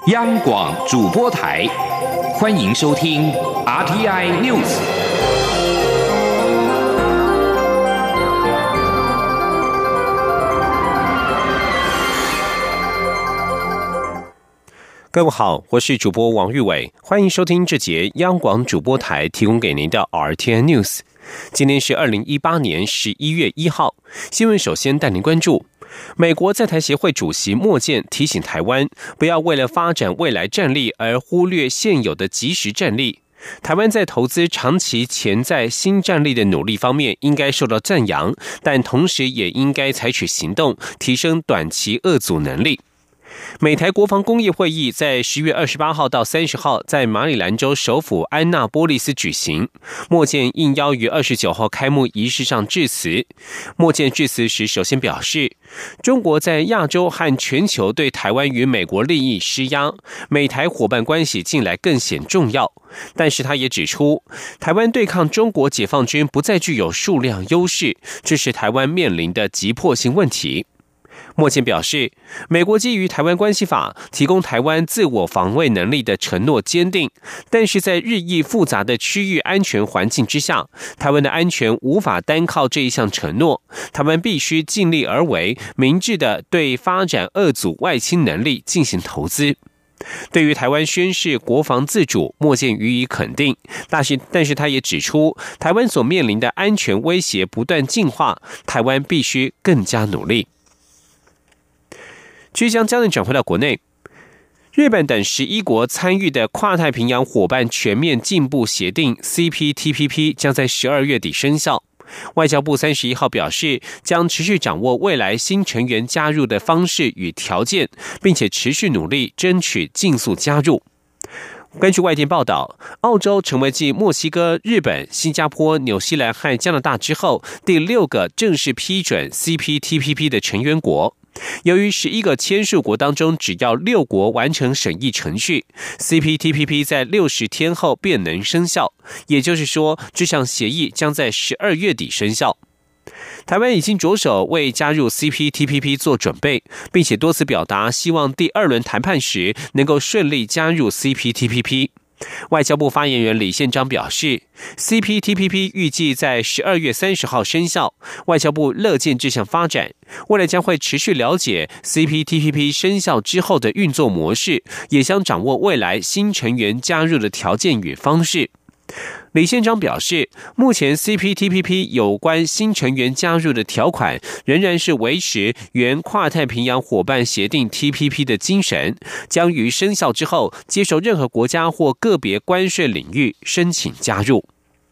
央广主播台，欢迎收听 RTI News。 各位好，我是主播王玉伟，欢迎收听这节央广主播台提供给您的 RTI News。今天是2018年11月1号，新闻首先带您关注。美国在台协会主席莫健提醒台湾，不要为了发展未来战力而忽略现有的即时战力。台湾在投资长期潜在新战力的努力方面应该受到赞扬，但同时也应该采取行动，提升短期遏阻能力。美台国防工业会议在10月28号到30号在马里兰州首府安纳波利斯举行。莫健应邀于29号开幕仪式上致辞。莫健致辞时首先表示，中国在亚洲和全球对台湾与美国利益施压，美台伙伴关系近来更显重要。但是他也指出，台湾对抗中国解放军不再具有数量优势，这是台湾面临的急迫性问题。莫健表示，美国基于台湾关系法提供台湾自我防卫能力的承诺坚定，但是在日益复杂的区域安全环境之下，台湾的安全无法单靠这一项承诺，台湾必须尽力而为，明智地对发展遏阻外侵能力进行投资。对于台湾宣示国防自主，莫健予以肯定，但是他也指出，台湾所面临的安全威胁不断进化，台湾必须更加努力。继续将焦点转回到国内，日本等11国参与的跨太平洋伙伴全面进步协定 CPTPP 将在12月底生效。外交部31号表示，将持续掌握未来新成员加入的方式与条件，并且持续努力争取尽速加入。根据外电报道，澳洲成为继墨西哥、日本、新加坡、纽西兰和加拿大之后第6个正式批准 CPTPP 的成员国。由于11个签署国当中只要6国完成审议程序， CPTPP 在60天后便能生效，也就是说，这项协议将在12月底生效。台湾已经着手为加入 CPTPP 做准备，并且多次表达希望第2轮谈判时能够顺利加入 CPTPP。外交部发言人李宪章表示， CPTPP 预计在12月30号生效，外交部乐见这项发展，未来将会持续了解 CPTPP 生效之后的运作模式，也将掌握未来新成员加入的条件与方式。李宪章表示，目前 CPTPP 有关新成员加入的条款仍然是维持原跨太平洋伙伴协定 TPP 的精神，将于生效之后接受任何国家或个别关税领域申请加入。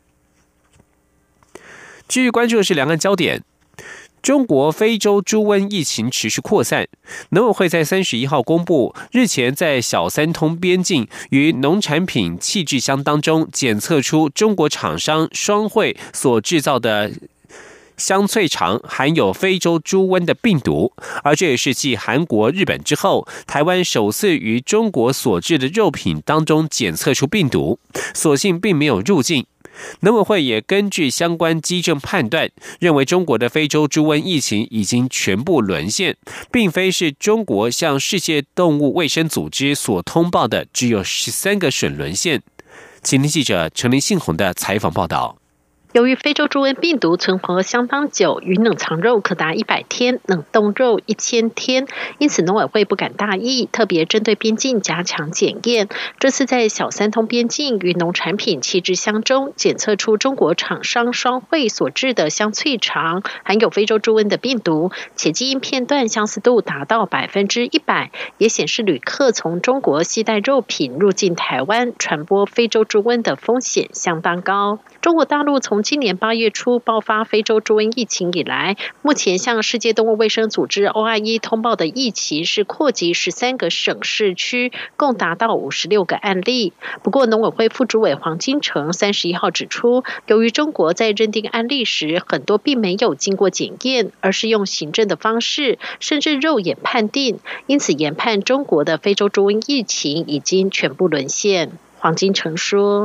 继续关注的是两岸焦点。中国非洲猪瘟疫情持续扩散，农委会在31号公布，日前在小三通边境与农产品弃置箱当中检测出中国厂商双汇所制造的香脆肠含有非洲猪瘟的病毒，而这也是继韩国、日本之后，台湾首次于中国所制的肉品当中检测出病毒，所幸并没有入境。农委会也根据相关基证判断，认为中国的非洲猪瘟疫情已经全部沦陷，并非是中国向世界动物卫生组织所通报的只有13个省沦陷。请听记者陈林信宏的采访报道。 由于非洲猪瘟病毒存活相当久，于冷藏肉可达100天，冷冻肉1000天，因此农委会不敢大意，特别针对边境加强检验。这次在小三通边境与农产品弃置箱中检测出中国厂商双汇所制的香脆肠含有非洲猪瘟的病毒，且基因片段相似度达到100%，也显示旅客从中国携带肉品入境台湾，传播非洲猪瘟的风险相当高。中国大陆从今年8月初爆发非洲猪瘟疫情以来，目前向世界动物卫生组织 OIE 通报的疫情是扩及13个省市区，共达到56个案例。不过农委会副主委黄金城31号指出，由于中国在认定案例时很多并没有经过检验，而是用行政的方式，甚至肉眼判定，因此研判中国的非洲猪瘟疫情已经全部沦陷。黄金城说，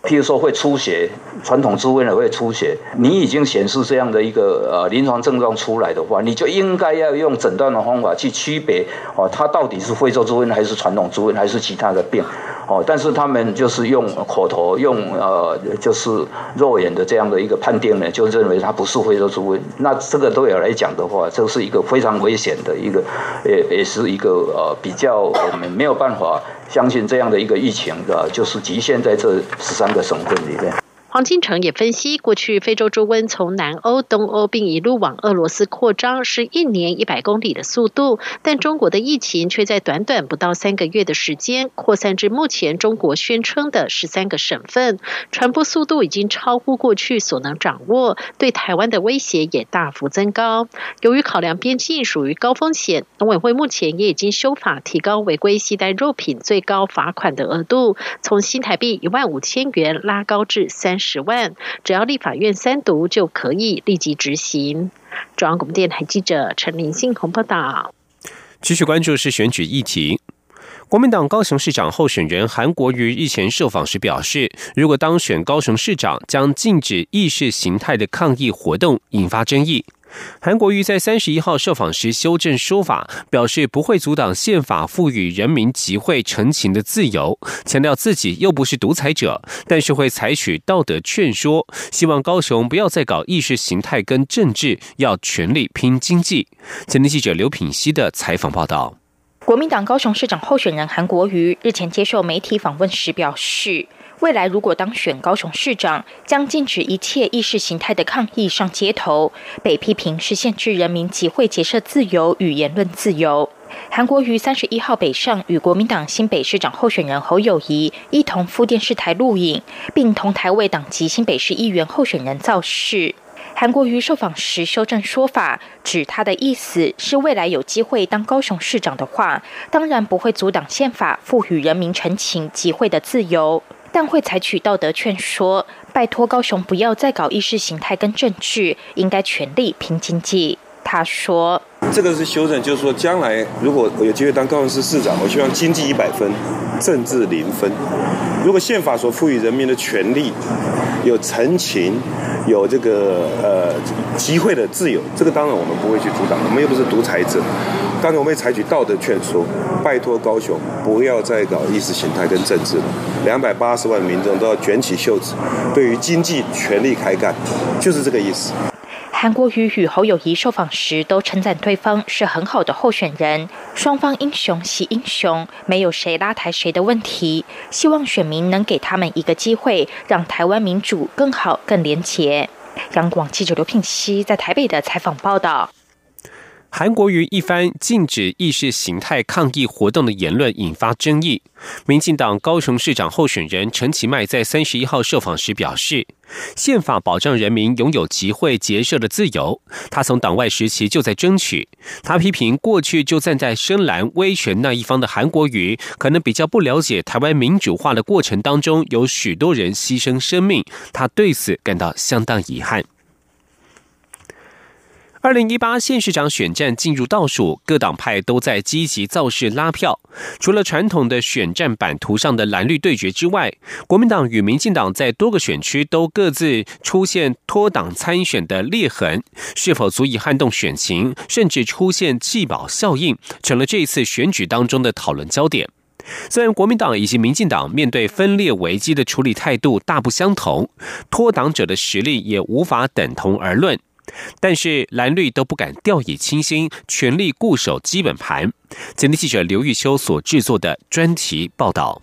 譬如说会出血，传统猪瘟会出血，你已经显示这样的一个临床症状出来的话，你就应该要用诊断的方法去区别它到底是非洲猪瘟还是传统猪瘟还是其他的病。但是他们就是用口头用就是肉眼的这样的一个判定呢，就认为它不是非洲猪瘟。那这个对我来讲的话，这是一个非常危险的一个，也是一个比较我们没有办法相信这样的一个疫情的，就是局限在这13个省份里面。 黄金城也分析，过去非洲猪瘟从南欧、东欧并一路往俄罗斯扩张，是1年100公里的速度，但中国的疫情却在短短不到3个月的时间，扩散至目前中国宣称的13个省份，传播速度已经超乎过去所能掌握，对台湾的威胁也大幅增高。由于考量边境属于高风险，农委会目前也已经修法提高违规携带肉品最高罚款的额度，从新台币15000元拉高至30万，只要立法院3读就可以立即执行。中央广播电台记者陈林信宏报道。 继续关注是选举议题。国民党高雄市长候选人韩国瑜日前受访时表示，如果当选高雄市长，将禁止意识形态的抗议活动，引发争议。韩国瑜在31号受访时修正说法，表示不会阻挡宪法赋予人民集会陈情的自由，强调自己又不是独裁者，但是会采取道德劝说，希望高雄不要再搞意识形态跟政治，要全力拼经济。前天记者刘品希的采访报道。 国民党高雄市长候选人韩国瑜日前接受媒体访问时表示，未来如果当选高雄市长，将禁止一切意识形态的抗议上街头，被批评是限制人民集会结社自由与言论自由。韩国瑜31号北上与国民党新北市长候选人侯友宜一同赴电视台录影，并同台为党籍新北市议员候选人造势。韩国瑜受访时修正说法，指他的意思是未来有机会当高雄市长的话，当然不会阻挡宪法赋予人民陈情集会的自由，但会采取道德劝说，拜托高雄不要再搞意识形态跟政治，应该全力拼经济。他说， 这个是修正，就是说将来如果我有机会当高雄市市长，我希望经济100分，政治0分。如果宪法所赋予人民的权利有陈情，有这个集会的自由，这个当然我们不会去阻挡，我们又不是独裁者。当然我们会采取道德劝说，拜托高雄不要再搞意识形态跟政治了。280万民众都要卷起袖子，对于经济全力开干，就是这个意思。 韩国瑜与侯友宜受访时都称赞对方是很好的候选人，双方英雄惜英雄，没有谁拉抬谁的问题，希望选民能给他们一个机会，让台湾民主更好更连结。央广记者刘聘熙在台北的采访报道。 韩国瑜一番禁止意识形态抗议活动的言论引发争议。民进党高雄市长候选人陈其迈在31号受访时表示，宪法保障人民拥有集会结社的自由，他从党外时期就在争取。他批评过去就站在深蓝威权那一方的韩国瑜，可能比较不了解台湾民主化的过程当中有许多人牺牲生命，他对此感到相当遗憾。2018县市长选战进入倒数，各党派都在积极造势拉票。除了传统的选战版图上的蓝绿对决之外，国民党与民进党在多个选区都各自出现脱党参选的裂痕，是否足以撼动选情，甚至出现弃保效应，成了这一次选举当中的讨论焦点。虽然国民党以及民进党面对分裂危机的处理态度大不相同，脱党者的实力也无法等同而论，但是蓝绿都不敢掉以轻心，全力固守基本盘。前天记者刘玉修所制作的专题报道。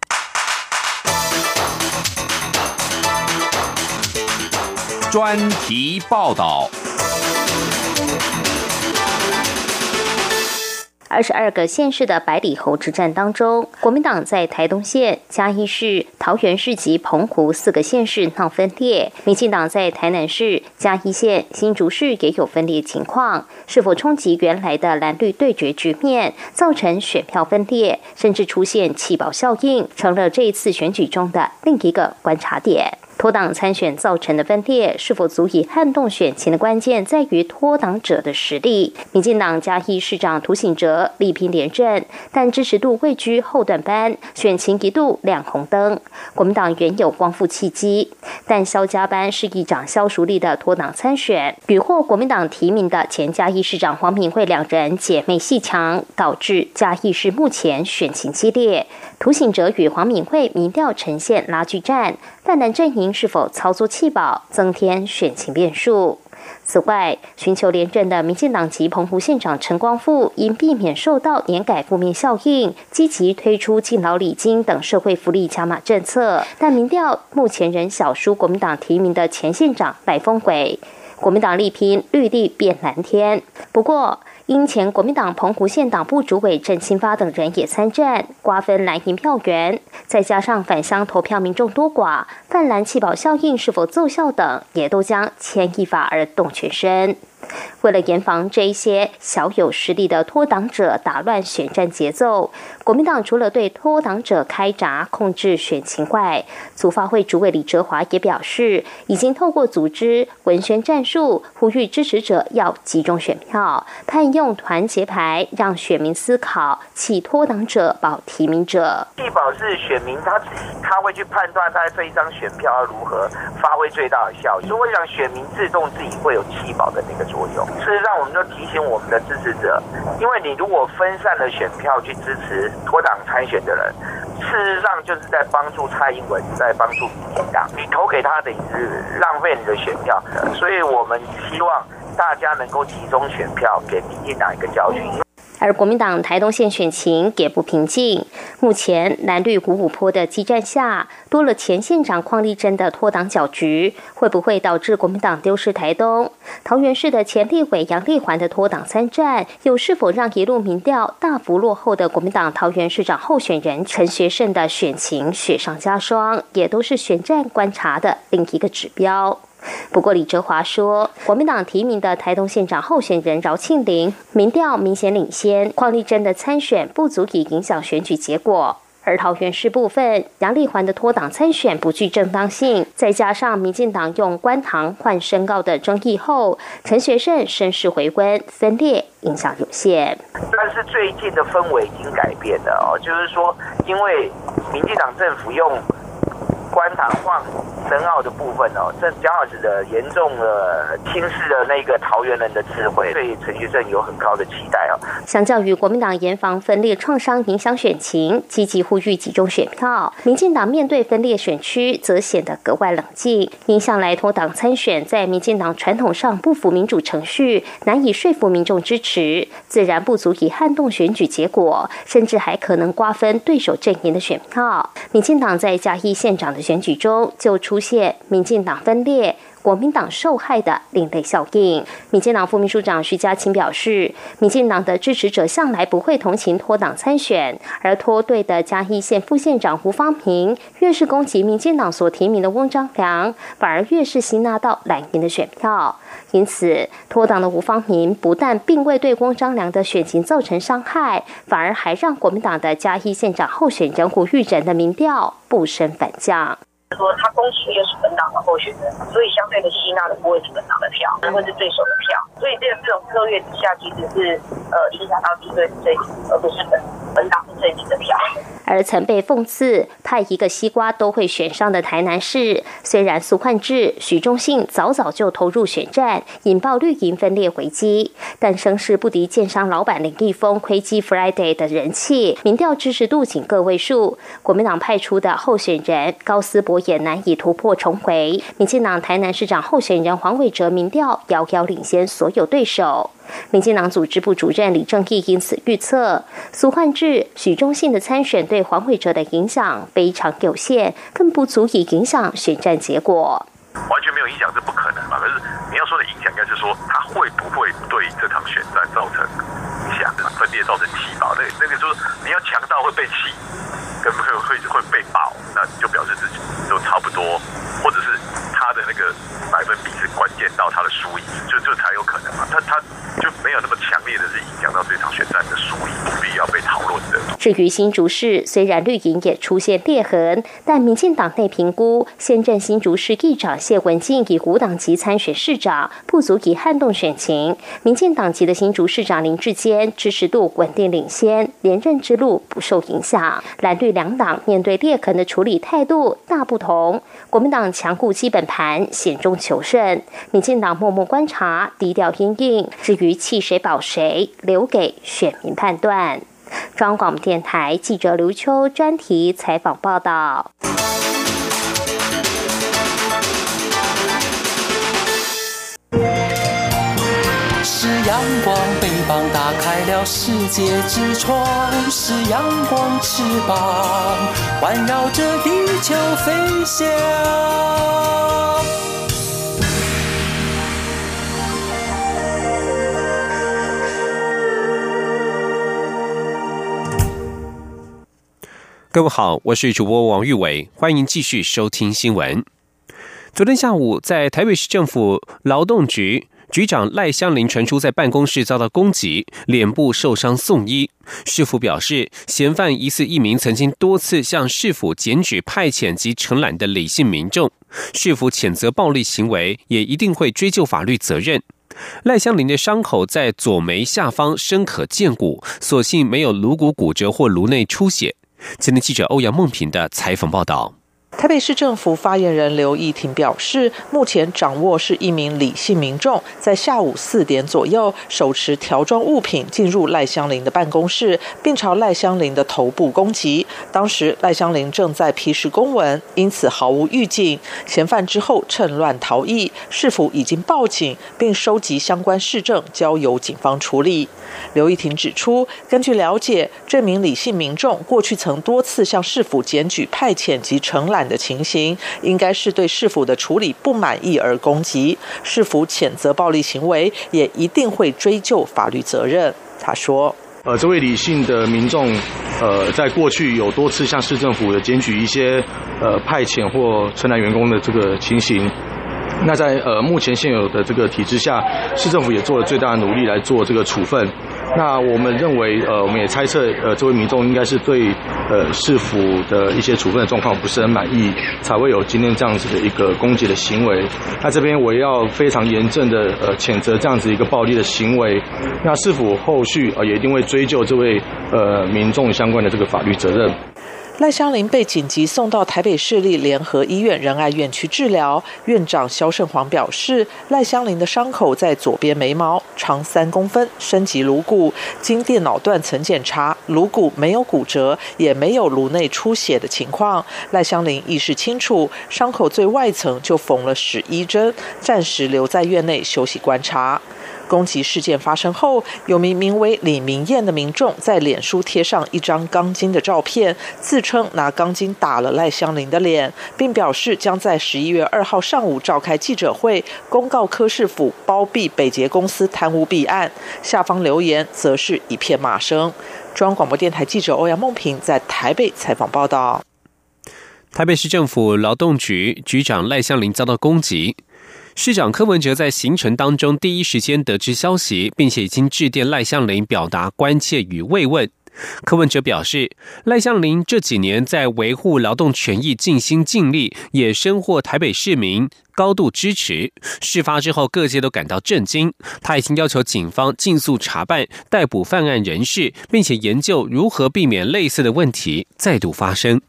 专题报道。 22个县市的百里侯之战当中，国民党在台东县、嘉义市、桃园市及澎湖4个县市闹分裂，民进党在台南市、嘉义县、新竹市也有分裂情况，是否冲击原来的蓝绿对决局面，造成选票分裂，甚至出现弃保效应，成了这一次选举中的另一个观察点。 脱党参选造成的分裂是否足以撼动选情的关键在于脱党者的实力。民进党嘉义市长涂醒哲力拼连任，但支持度位居后段班，选情一度亮红灯。国民党原有光复契机，但萧家班市议长萧淑丽的脱党参选，屡获国民党提名的前嘉义市长黄敏惠两人姐妹戏强，导致嘉义市目前选情激烈。涂醒哲与黄敏惠民调呈现拉锯战，泛蓝阵营是否操作弃保，增添选情变数。此外，寻求连任的民进党籍澎湖县长陈光复，因避免受到年改负面效应，积极推出敬老礼金等社会福利加码政策，但民调目前仍小输国民党提名的前县长赖峰伟。国民党力拼绿地变蓝天，不过因前国民党澎湖县党部主委郑清发等人也参战，瓜分蓝营票源，再加上返乡投票民众多寡，泛蓝弃保效应是否奏效等，也都将牵一发而动全身。为了严防这一些小有实力的脱党者打乱选战节奏，国民党除了对脱党者开闸控制选情外，组发会主委李哲华也表示，已经透过组织文宣战术，呼吁支持者要集中选票，盼用团结牌让选民思考弃脱党者保提名者。 弃保是选民他会去判断他这一张选票要如何发挥最大的效益，所以我想选民自动自己会有弃保的那个作用。事实上，我们就提醒我们的支持者，因为你如果分散了选票去支持脱党参选的人，事实上就是在帮助蔡英文，在帮助民进党。你投给他等于是浪费你的选票，所以我们希望大家能够集中选票，给民进党一个教训。 而国民党台东县选情也不平静，目前蓝绿五五波的激战下，多了前县长邝丽珍的脱党搅局，会不会导致国民党丢失台东？桃园市的前立委杨丽环的脱党参战，又是否让一路民调大幅落后的国民党桃园市长候选人陈学圣的选情雪上加霜，也都是选战观察的另一个指标。不过李哲华说，国民党提名的台东县长候选人饶庆玲民调明显领先，邝丽珍的参选不足以影响选举结果。而桃园市部分，杨丽环的脱党参选不具正当性，再加上民进党用关堂换申告的争议后，陈学圣声势回温，分裂影响有限。 但是最近的氛围已经改变了就是说，因为民进党政府用关堂换申奥的部分这将好使得严重的轻视了那个桃园人的智慧，对陈学圣有很高的期待相较于国民党严防分裂创伤影响选情，积极呼吁集中选票，民进党面对分裂选区则显得格外冷静。因向来脱党参选在民进党传统上不符民主程序，难以说服民众支持，自然不足以撼动选举结果，甚至还可能瓜分对手阵营的选票。民进党在嘉义县长的选举中就出现民进党分裂、国民党受害的另类效应。民进党副秘书长徐嘉清表示，民进党的支持者向来不会同情脱党参选，而脱队的嘉义县副县长胡芳平越是攻击民进党所提名的翁章良，反而越是吸纳到蓝营的选票。因此，脱党的胡芳平不但并未对翁章良的选情造成伤害，反而还让国民党的嘉义县长候选人胡玉仁的民调不升反降。 说他攻击又是本党的候选人，所以相对的吸纳的不会是本党的票，会是对手的票，所以这种策略之下，其实是影响到敌对阵营，而不是本党阵营的票。 而曾被讽刺派一个西瓜都会选上的台南市，虽然苏焕智、许忠信早就投入选战，引爆绿营分裂危机，但声势不敌建商老板林立峰亏基 Friday 的人气，民调支持度仅个位数。国民党派出的候选人高思博也难以突破重回。民进党台南市长候选人黄伟哲民调遥遥领先所有对手。民进党组织部主任李正义因此预测，苏焕智、许忠信的参选对黄伟哲的影响非常有限，更不足以影响选战结果。 完全没有影响，这不可能嘛？可是你要说的影响，应该是说他会不会对这场选战造成影响，分裂造成气爆？那个就是你要强到会被气，跟会被爆，那就表示自己都差不多，或者是他的那个百分比是关键到他的输赢，就才有可能嘛。他就没有那么强烈的是影响到这场选战的输赢，必要被讨论的。 至于新竹市，虽然绿营也出现裂痕，但民进党内评估，现任新竹市议长谢文进以无党籍参选市长，不足以撼动选情。民进党籍的新竹市长林智坚支持度稳定领先，连任之路不受影响。蓝绿两党面对裂痕的处理态度大不同，国民党强固基本盘，险中求胜；民进党默默观察，低调因应。至于弃谁保谁，留给选民判断。中央广播电台记者刘秋专题采访报道。 是阳光，翅膀打开了世界之窗；是阳光，翅膀环绕着地球飞翔。 各位好，我是主播王玉伟，欢迎继续收听新闻。昨天下午，在台北市政府劳动局局长赖香伶传出在办公室遭到攻击，脸部受伤送医。市府表示，嫌犯疑似一名曾经多次向市府检举派遣及承揽的李姓民众，市府谴责暴力行为，也一定会追究法律责任。赖香伶的伤口在左眉下方深可见骨，所幸没有颅骨骨折或颅内出血。今天记者欧阳梦平的采访报道。 台北市政府发言人刘义庭表示，目前掌握是一名李姓民众在下午4点左右手持条状物品进入赖香伶的办公室，并朝赖香伶的头部攻击。当时赖香伶正在批示公文，因此毫无预警。嫌犯之后趁乱逃逸，市府已经报警，并收集相关事证交由警方处理。刘义庭指出，根据了解，这名李姓民众过去曾多次向市府检举派遣及承揽的情形，应该是对市府的处理不满意而攻击。市府谴责暴力行为，也一定会追究法律责任。他说： 这位李姓的民众，在过去有多次向市政府有检举一些派遣或承揽员工的这个情形。那在目前现有的这个体制下，市政府也做了最大的努力来做这个处分。那我们认为，我们也猜测，这位民众应该是对市府的一些处分的状况不是很满意，才会有今天这样子的一个攻击的行为。那这边我也要非常严正的谴责这样子一个暴力的行为。那市府后续也一定会追究这位民众相关的这个法律责任。 赖香伶被紧急送到台北市立联合医院仁爱院区治疗，院长萧胜煌表示，赖香伶的伤口在左边眉毛，长3公分，深及颅骨。经电脑断层检查，颅骨没有骨折，也没有颅内出血的情况。赖香伶意识清楚，伤口最外层就缝了11针，暂时留在院内休息观察。攻击事件发生后，有名为李明燕的民众在脸书贴上一张钢筋的照片，自称拿钢筋打了赖香伶的脸，并表示将在11月2号上午召开记者会，公告柯市府包庇北捷公司贪污弊案。下方留言则是一片骂声。中央广播电台记者欧阳梦平在台北采访报道。 台北市政府劳动局局长赖香伶遭到攻击。市长柯文哲在行程当中第一时间得知消息，并且已经致电赖香伶表达关切与慰问。柯文哲表示，赖香伶这几年在维护劳动权益尽心尽力，也深获台北市民高度支持。事发之后，各界都感到震惊。他已经要求警方尽速查办、逮捕犯案人士，并且研究如何避免类似的问题再度发生。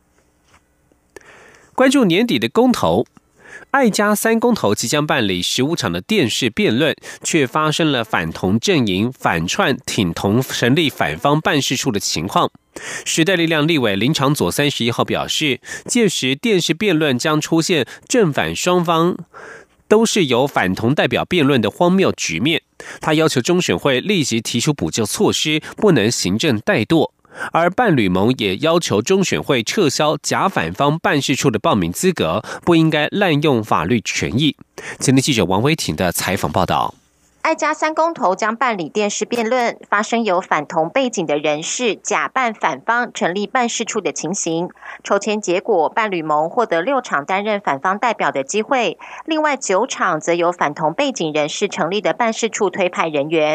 关注年底的公投。爱家3公投即将办理15场的电视辩论，却发生了反同阵营反串挺同成立反方办事处的情况。时代力量立委林长佐31号表示，届时电视辩论将出现正反双方都是由反同代表辩论的荒谬局面。他要求中选会立即提出补救措施，不能行政怠惰。而伴侣盟也要求中选会撤销假反方办事处的报名资格，不应该滥用法律权益。今天记者王维婷的采访报道。 爱家3公投将办理电视辩论，发生有反同背景的人士假扮反方成立办事处的情形。抽签结果，伴侣盟获得6场担任反方代表的机会，另外9场则由反同背景人士成立的办事处推派人员。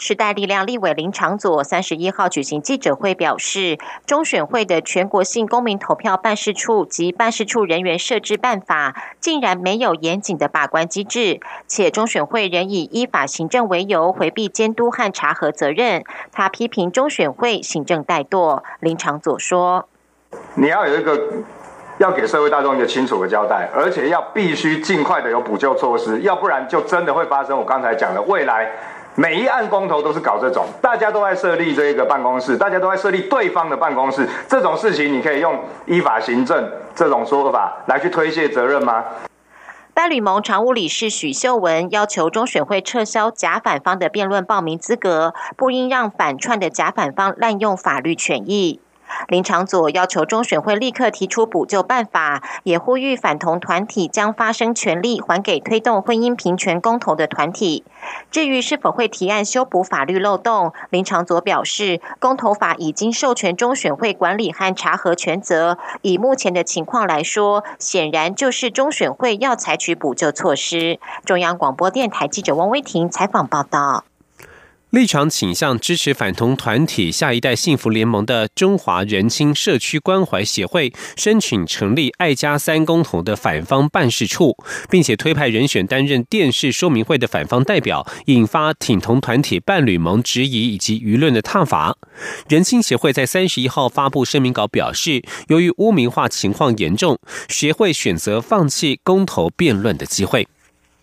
时代力量立委林长佐31号举行记者会表示，中选会的全国性公民投票办事处及办事处人员设置办法竟然没有严谨的把关机制，且中选会仍以依法行政为由回避监督和查核责任。他批评中选会行政怠惰。林长佐说， 你要有一个要给社会大众一个清楚的交代，而且要必须尽快的有补救措施，要不然就真的会发生我刚才讲的，未来每一案公投都是搞这种，大家都在设立这个办公室，大家都在设立对方的办公室，这种事情你可以用依法行政这种说法来去推卸责任吗？ 伴侣盟常务理事许秀文要求中选会撤销假反方的辩论报名资格，不应让反串的假反方滥用法律权益。林长佐要求中选会立刻提出补救办法，也呼吁反同团体将发声权利还给推动婚姻平权公投的团体。至于是否会提案修补法律漏洞，林长佐表示，公投法已经授权中选会管理和查核权责，以目前的情况来说，显然就是中选会要采取补救措施。中央广播电台记者汪威婷采访报道。 立场倾向支持反同团体下一代幸福联盟的中华人亲社区关怀协会申请成立爱家3公投的反方办事处，并且推派人选担任电视说明会的反方代表，引发挺同团体伴侣盟质疑以及舆论的挞伐。人亲协会在31号发布声明稿表示，由于污名化情况严重，协会选择放弃公投辩论的机会。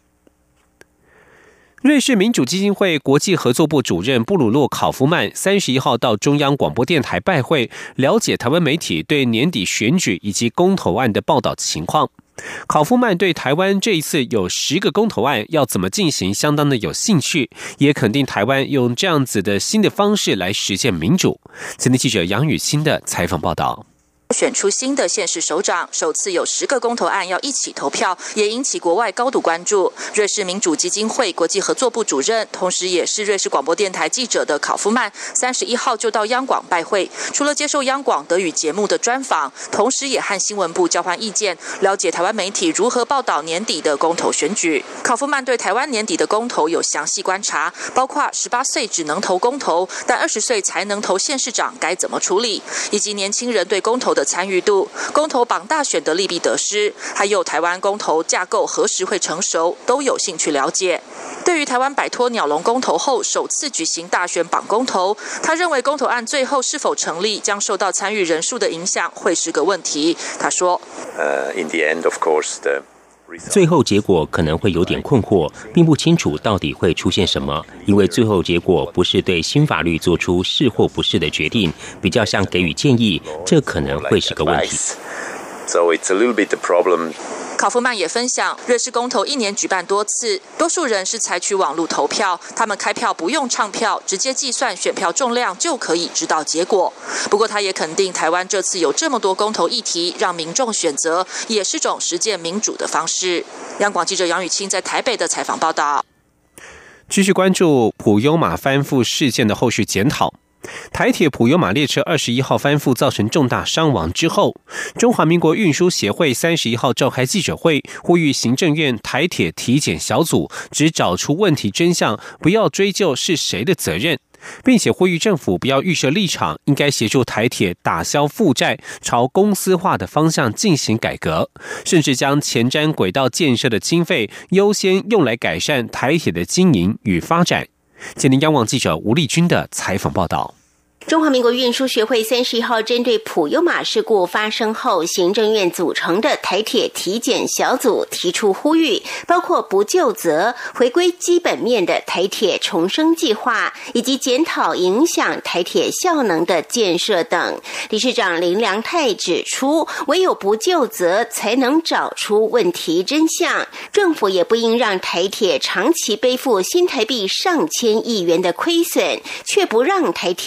瑞士民主基金会国际合作部主任布鲁诺·考夫曼31号到中央广播电台拜会，了解台湾媒体对年底选举以及公投案的报道情况。考夫曼对台湾这一次有10个公投案要怎么进行相当的有兴趣，也肯定台湾用这样子的新的方式来实现民主。前天记者杨雨欣的采访报道。 选出新的县市首长，首次有10个公投案要一起投票，也引起国外高度关注。瑞士民主基金会国际合作部主任，同时也是瑞士广播电台记者的考夫曼31号就到央广拜会，除了接受央广德语节目的专访，同时也和新闻部交换意见，了解台湾媒体如何报道年底的公投选举。考夫曼对台湾年底的公投有详细观察，包括18岁只能投公投，但20岁才能投县市长该怎么处理，以及年轻人对公投的参与度、公投绑大选的利弊得失，还有台湾公投架构何时会成熟，都有兴趣了解。对于台湾摆脱鸟笼公投后首次举行大选绑公投，他认为公投案最后是否成立将受到参与人数的影响，会是个问题。他说 ，In the end, of course,最后结果可能会有点困惑，并不清楚到底会出现什么，因为最后结果不是对新法律做出是或不是的决定，比较像给予建议，这可能会是个问题。So it's a little bit the problem. 考夫曼也分享，瑞士公投1年举办多次，多数人是采取网络投票，他们开票不用唱票，直接计算选票重量就可以知道结果。不过他也肯定台湾这次有这么多公投议题让民众选择，也是种实践民主的方式。央广记者杨雨清在台北的采访报道。 继续关注普悠玛翻覆事件的后续检讨。台铁普悠玛列车21号翻覆造成重大伤亡之后，中华民国运输协会31号召开记者会，呼吁行政院台铁体检小组只找出问题真相，不要追究是谁的责任，并且呼吁政府不要预设立场，应该协助台铁打消负债，朝公司化的方向进行改革，甚至将前瞻轨道建设的经费优先用来改善台铁的经营与发展。今天央广记者吴丽君的采访报道。 中华民国运输学会31号针对普悠玛事故发生后，行政院组成的台铁体检小组提出呼吁，包括不究责、回归基本面的台铁重生计划，以及检讨影响台铁效能的建设等。理事长林良泰指出，唯有不究责才能找出问题真相，政府也不应让台铁长期背负新台币上千亿元的亏损，却不让台铁调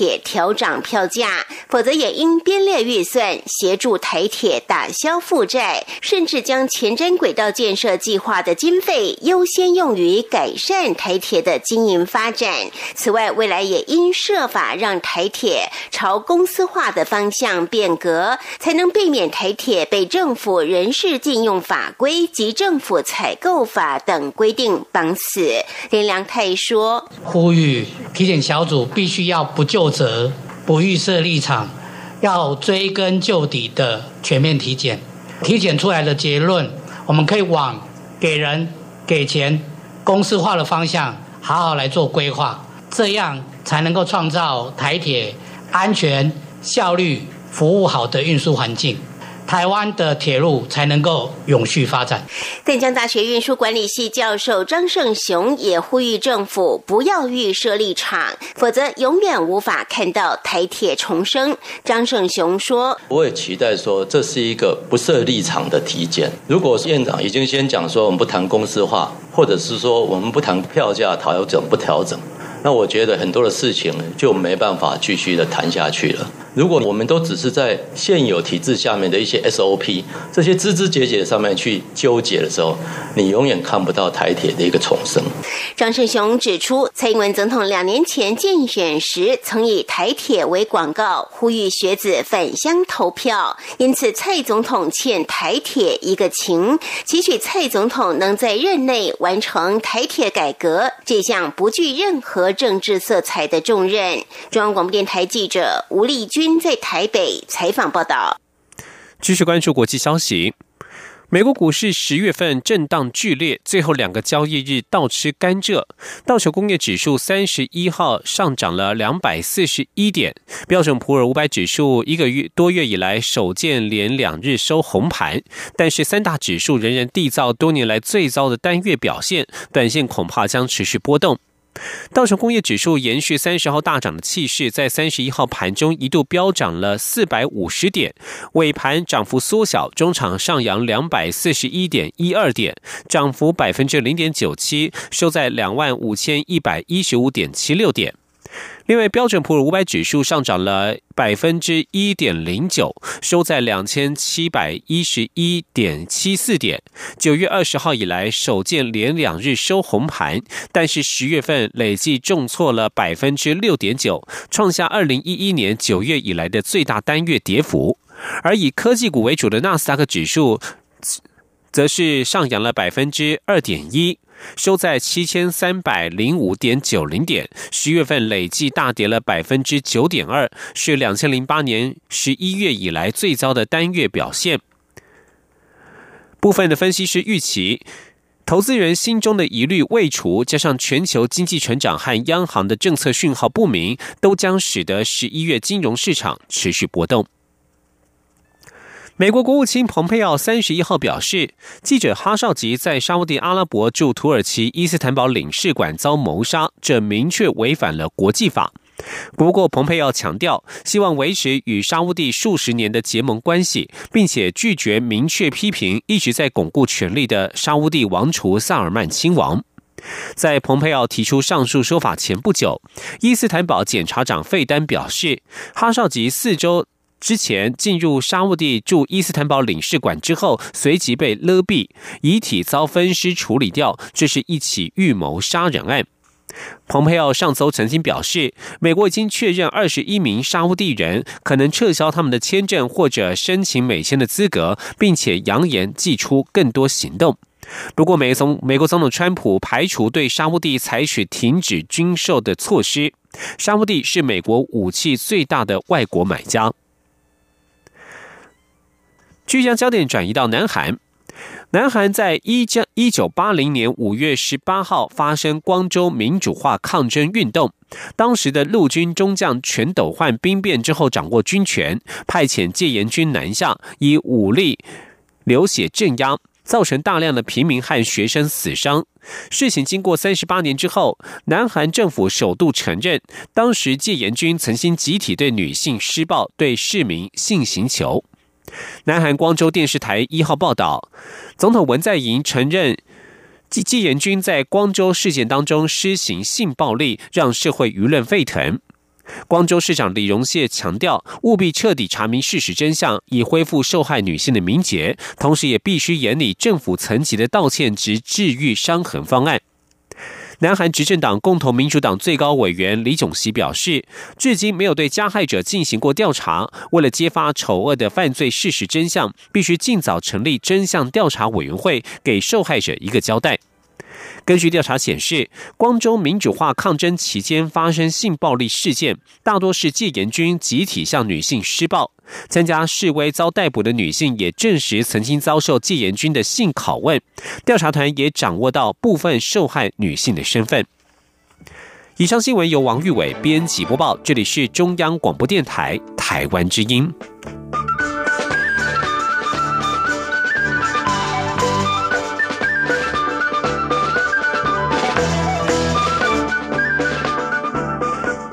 调涨票价，否则也应编列预算协助台铁打消负债，甚至将前瞻轨道建设计划的经费优先用于改善台铁的经营发展。此外，未来也应设法让台铁朝公司化的方向变革，才能避免台铁被政府人事禁用法规及政府采购法等规定绑死。林良泰说， 呼吁体检小组必须要不究责、不预设立场，要追根究底的全面体检。体检出来的结论，我们可以往给人、给钱、公司化的方向好好来做规划，这样才能够创造台铁安全、效率、服务好的运输环境，台湾的铁路才能够永续发展。 淡江大学运输管理系教授张胜雄也呼吁政府不要预设立场，否则永远无法看到台铁重生。张胜雄说， 我也期待说这是一个不设立场的体检。如果院长已经先讲说我们不谈公司化，或者是说我们不谈票价调整不调整，那我觉得很多的事情就没办法继续的谈下去了。如果我们都只是在现有体制下面的一些 SOP 这些枝枝节节上面去纠结的时候，你永远看不到台铁的一个重生。 张胜雄指出，蔡英文总统2年前竞选时曾以台铁为广告，呼吁学子返乡投票，因此蔡总统欠台铁一个情，期许蔡总统能在任内完成台铁改革这项不具任何政治色彩的重任。中央广播电台记者吴丽君在台北采访报道。 继续关注国际消息，美国股市10月份震荡剧烈，最后2个交易日倒吃甘蔗。道琼工业指数31号上涨了241点，标准普尔500指数1个多月以来首见连2日收红盘，但是3大指数仍然缔造多年来最糟的单月表现，短线恐怕将持续波动。道琼工业指数延续30号大涨的气势，在31号盘中一度飙涨了450点，尾盘涨幅缩小，中场上扬241.12点，涨幅0.97%，收在25115.76点。另外，标准普尔500指数上涨了1.09%，收在2711.74点。9月20号以来首见连2日收红盘，但是10月份累计重挫了6.9%，创下2011年9月以来的最大单月跌幅。而以科技股为主的纳斯达克指数则是上扬了2.1%。收在7305.90点，10月份累计大跌了9.2%，是2008年11月以来最糟的单月表现。部分的分析师预期，投资人心中的疑虑未除，加上全球经济成长和央行的政策讯号不明，都将使得11月金融市场持续波动。美国国务卿蓬佩奥31号表示，记者哈绍吉在沙烏地阿拉伯驻土耳其伊斯坦堡领事馆遭谋杀，这明确违反了国际法。不过，蓬佩奥强调，希望维持与沙烏地数十年的结盟关系，并且拒绝明确批评一直在巩固权力的沙烏地王储萨尔曼亲王。在蓬佩奥提出上述说法前不久，伊斯坦堡检察长费丹表示，哈绍吉4周之前进入沙烏地驻伊斯坦堡领事馆之后，随即被勒毙，遗体遭分尸处理掉，这是一起预谋杀人案。蓬佩奥上周曾经表示，美国已经确认21名沙烏地人可能撤销他们的签证或者申请美签的资格，并且扬言祭出更多行动。不过，美国总统川普排除对沙烏地采取停止军售的措施。沙烏地是美国武器最大的外国买家。将焦点转移到南韩。南韩在1980年5月18号发生光州民主化抗争运动，当时的陆军中将全斗焕兵变之后掌握军权，派遣戒严军南下，以武力流血镇压，造成大量的平民和学生死伤。事情经过38年之后，南韩政府首度承认，当时戒严军曾经集体对女性施暴，对市民性刑求。南韩光州电视台1号报道，总统文在寅承认戒严军在光州事件当中施行性暴力，让社会舆论沸腾。 光州市长李荣燮强调，务必彻底查明事实真相，以恢复受害女性的名节，同时也必须研拟政府层级的道歉及治愈伤痕方案。南韩执政党共同民主党最高委员李炯熙表示，至今没有对加害者进行过调查，为了揭发丑恶的犯罪事实真相，必须尽早成立真相调查委员会，给受害者一个交代。根据调查显示，光州民主化抗争期间发生性暴力事件，大多是戒严军集体向女性施暴。参加示威遭逮捕的女性也证实曾经遭受戒严军的性拷问。调查团也掌握到部分受害女性的身份。以上新闻由王玉伟编辑播报，这里是中央广播电台台湾之音。